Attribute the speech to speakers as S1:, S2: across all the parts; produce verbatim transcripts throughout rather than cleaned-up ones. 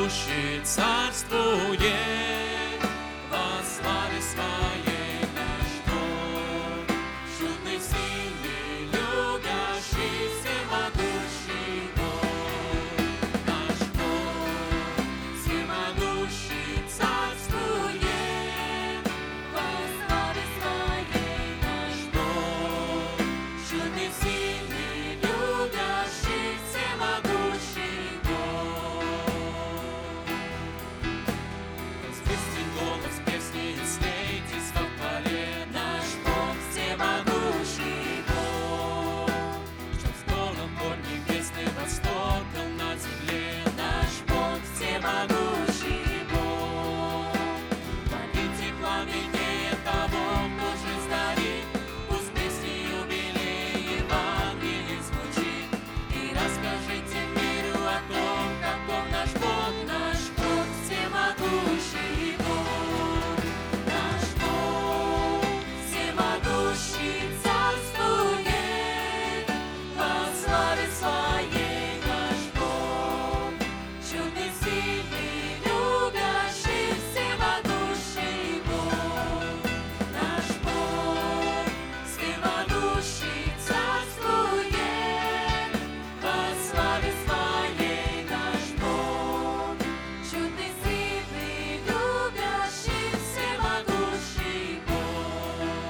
S1: всемогущий царствует, во славе своей наш Бог, чудный, сильный, любящий, всемогущий Бог. Наш Бог, всемогущий царствует, во славе своей наш Бог, чудный, сильный, любящий, всемогущий Бог. Возвысьте голос песни и слейтесь во хвале. Наш Бог всемогущий Бог, что вздолом гор небесный востоком на земле. Наш Бог всемогущий Бог. Палите пламеннее того, кто жизнь дарит, пусть песни юбилей Евангелие звучит. И расскажите миру о том, каков наш Бог, наш Бог всемогущий Бог. Наш Бог всемогущий царствует, во славе своей наш Бог, чудный, сильный, любящий, всемогущий Бог. Наш Бог всемогущий царствует, во славе своей наш Бог, чудный, сильный, любящий, всемогущий Бог.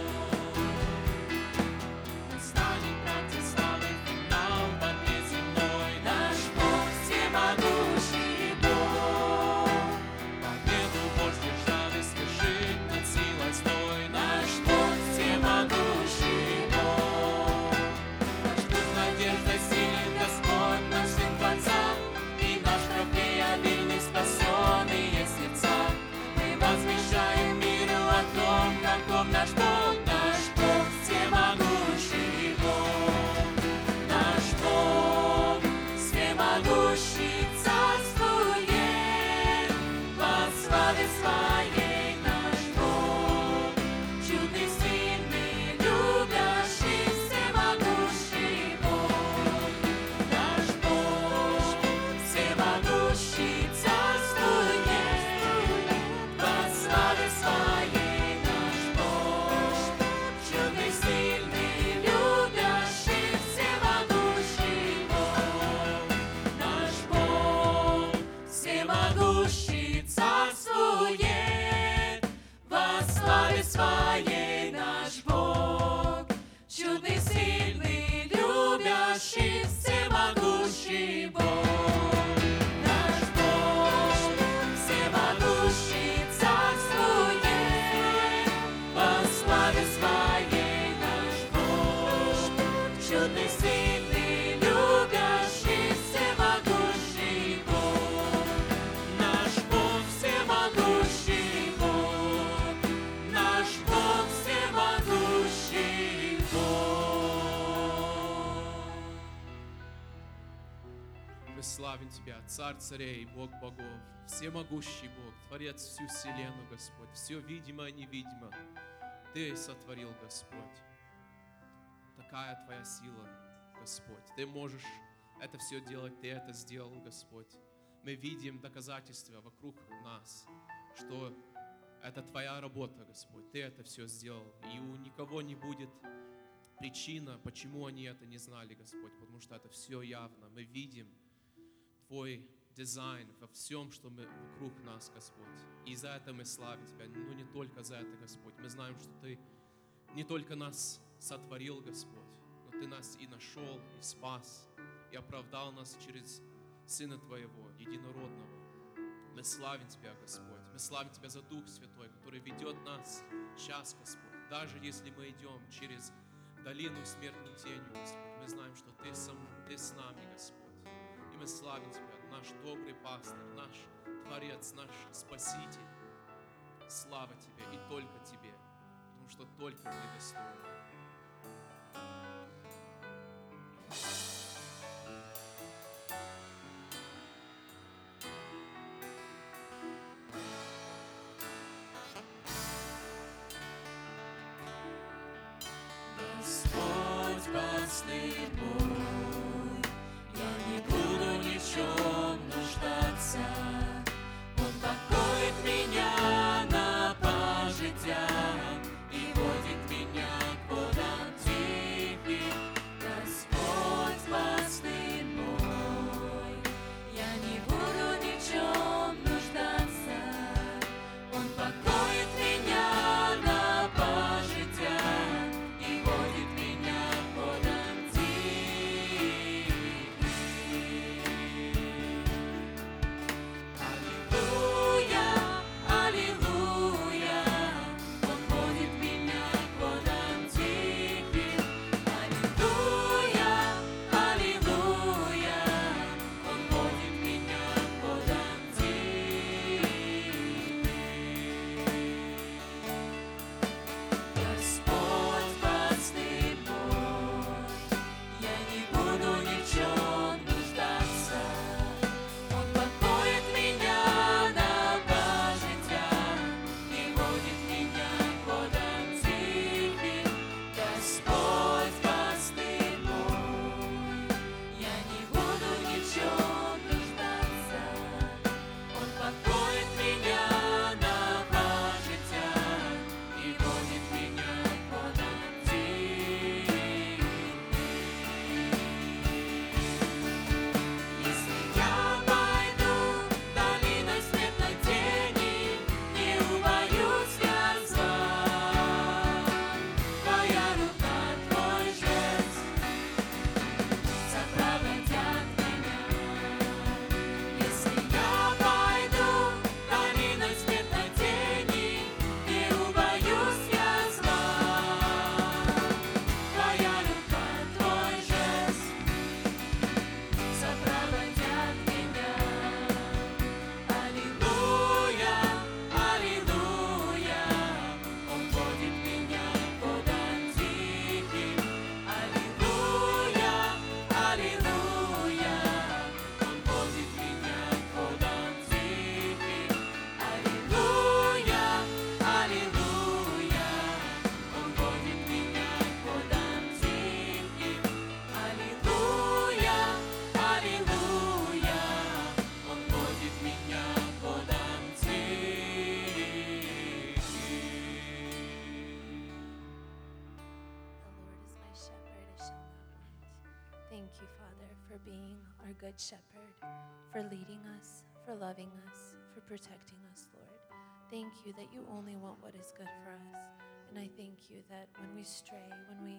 S1: Станет, братья, славы финал под неземной. Наш Бог всемогущий Бог. Победу Божью ждал и свершит над силой злой. Наш Бог всемогущий Бог. Наш Бог надежда силен Господь, наш Сын Творца, и наш трофей обильный спасенные сердца. Мы возвещаем миру о том, каков наш Бог, наш Бог всемогущий Бог. Наш Бог всемогущий царствует, во славе своей наш Бог, чудный, сильный, любящий, всемогущий Бог. Наш Бог всемогущий царствует, во славе своей наш Бог, чудный, сильный, любящий, всемогущий Бог. Наш Бог всемогущий царствует, во славе своей наш Бог, чудный, сильный, любящий, всемогущий Бог. Наш Бог всемогущий царствует, во славе своей наш Бог, чудный, сильный, любящий, всемогущий Бог. Наш Бог всемогущий Бог. Наш Бог всемогущий Бог.
S2: Мы славим Тебя, Царь царей, Бог богов, всемогущий Бог, Творец всю вселенную, Господь, все видимо и невидимо Ты сотворил, Господь. Такая Твоя сила, Господь. Ты можешь это все делать, Ты это сделал, Господь. Мы видим доказательства вокруг нас, что это Твоя работа, Господь. Ты это все сделал. И у никого не будет причина, почему они это не знали, Господь, потому что это все явно. Мы видим Твой дизайн во всем, что мы вокруг нас, Господь. И за это мы славим Тебя, но не только за это, Господь. Мы знаем, что Ты не только нас сотворил, Господь, но Ты нас и нашел, и спас, и оправдал нас через Сына Твоего, Единородного. Мы славим Тебя, Господь. Мы славим Тебя за Дух Святой, который ведет нас сейчас, Господь. Даже если мы идем через долину смертной тенью, Господь, мы знаем, что Ты, сам, Ты с нами, Господь. И мы славим Тебя, наш добрый пастырь, наш Творец, наш Спаситель. Слава Тебе и только Тебе, потому что только Ты достоин.
S1: Господь, пастырь мой, я не буду ни в чем нуждаться.
S3: our good shepherd, for leading us, for loving us, for protecting us, Lord. Thank you that you only want what is good for us. And I thank you that when we stray, when we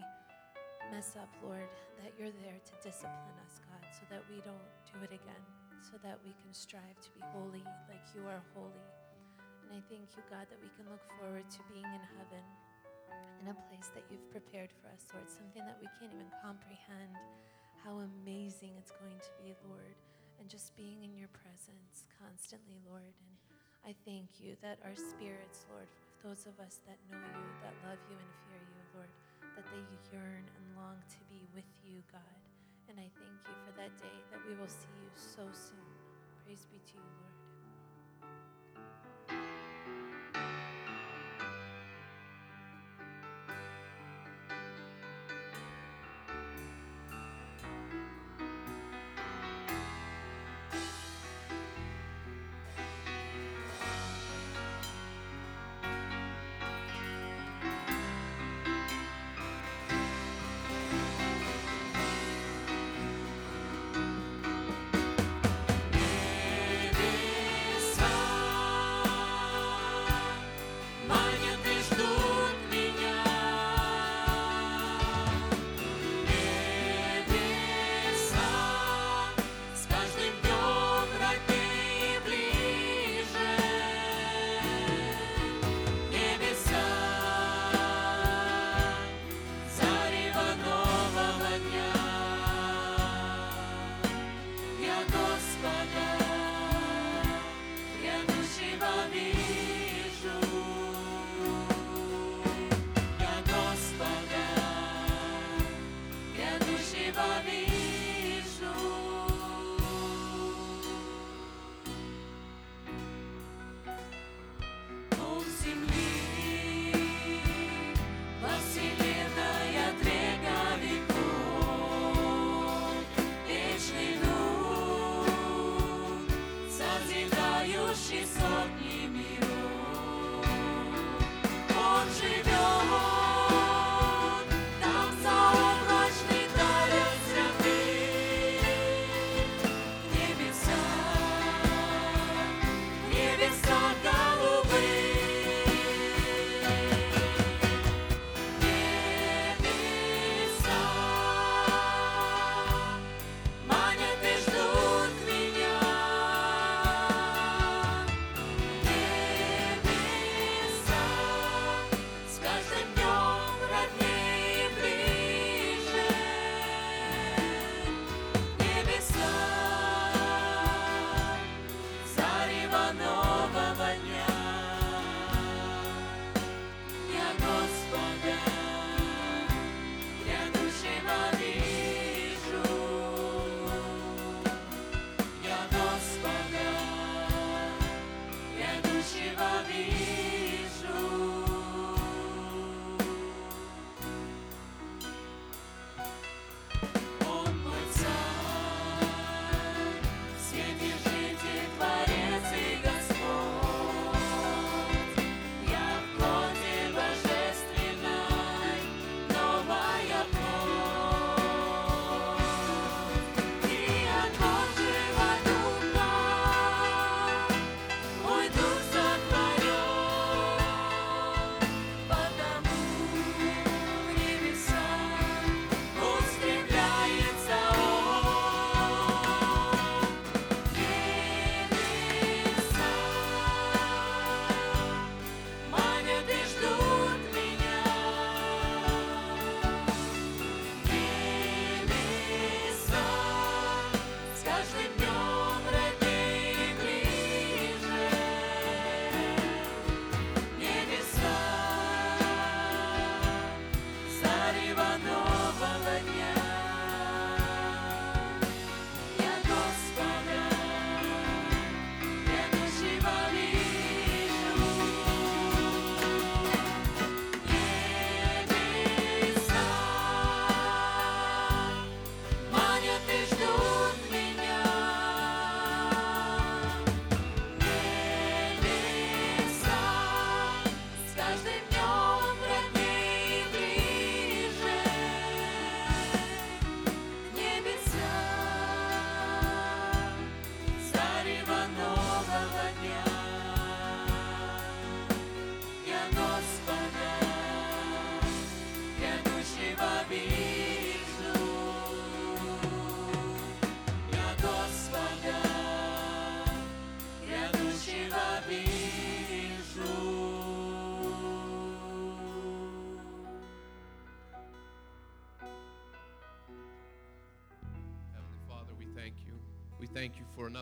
S3: mess up, Lord, that you're there to discipline us, God, so that we don't do it again, so that we can strive to be holy like you are holy. And I thank you, God, that we can look forward to being in heaven, in a place that you've prepared for us, Lord, something that we can't even comprehend how amazing it's going to be, Lord, and just being in your presence constantly, Lord. And I thank you that our spirits, Lord, those of us that know you, that love you and fear you, Lord, that they yearn and long to be with you, God. And I thank you for that day that we will see you so soon. Praise be to you, Lord.
S1: Небеса,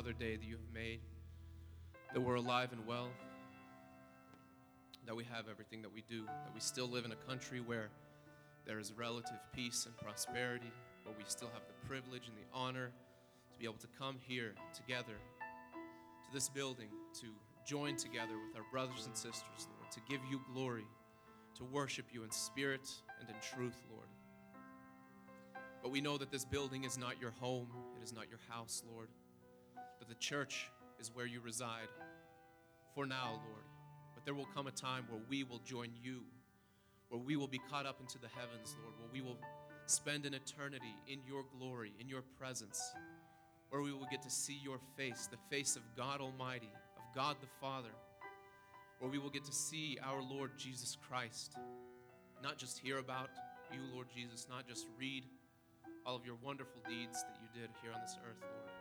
S2: another day that you have made, that we're alive and well, that we have everything that we do, that we still live in a country where there is relative peace and prosperity, where we still have the privilege and the honor to be able to come here together to this building, to join together with our brothers and sisters, Lord, to give you glory, to worship you in spirit and in truth, Lord. But we know that this building is not your home, it is not your house, Lord, but the church is where you reside for now, Lord. But there will come a time where we will join you, where we will be caught up into the heavens, Lord, where we will spend an eternity in your glory, in your presence, where we will get to see your face, the face of God Almighty, of God the Father, where we will get to see our Lord Jesus Christ, not just hear about you, Lord Jesus, not just read all of your wonderful deeds that you did here on this earth, Lord,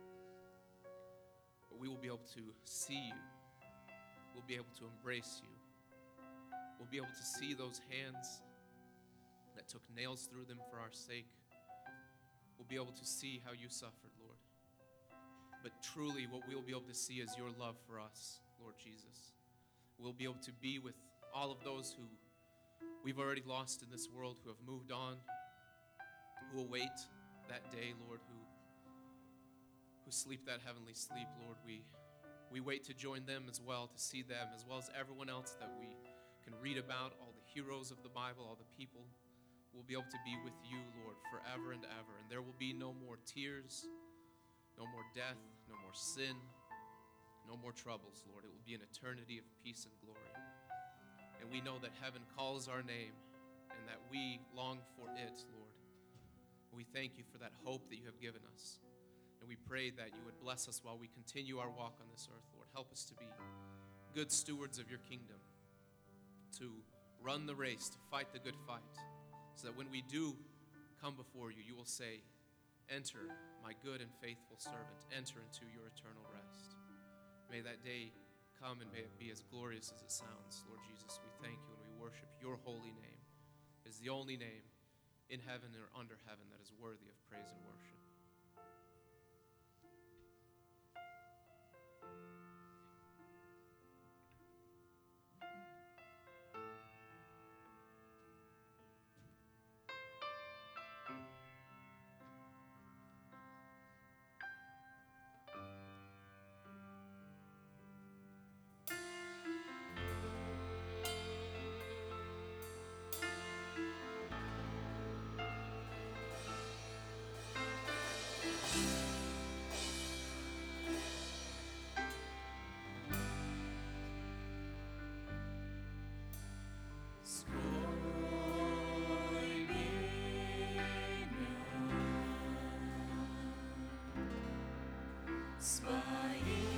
S2: but we will be able to see you. We'll be able to embrace you. We'll be able to see those hands that took nails through them for our sake. We'll be able to see how you suffered, Lord. But truly, what we'll be able to see is your love for us, Lord Jesus. We'll be able to be with all of those who we've already lost in this world, who have moved on, who await that day, Lord, who, who sleep that heavenly sleep, Lord. We, we wait to join them as well, to see them, as well as everyone else that we can read about, all the heroes of the Bible, all the people. We'll be able to be with you, Lord, forever and ever. And there will be no more tears, no more death, no more sin, no more troubles, Lord. It will be an eternity of peace and glory. And we know that heaven calls our name and that we long for it, Lord. We thank you for that hope that you have given us. And we pray that you would bless us while we continue our walk on this earth, Lord. Help us to be good stewards of your kingdom, to run the race, to fight the good fight, so that when we do come before you, you will say, "Enter, my good and faithful servant, enter into your eternal rest." May that day come and may it be as glorious as it sounds. Lord Jesus, we thank you and we worship your holy name. It is the only name in heaven or under heaven that is worthy of praise and worship.
S1: Spying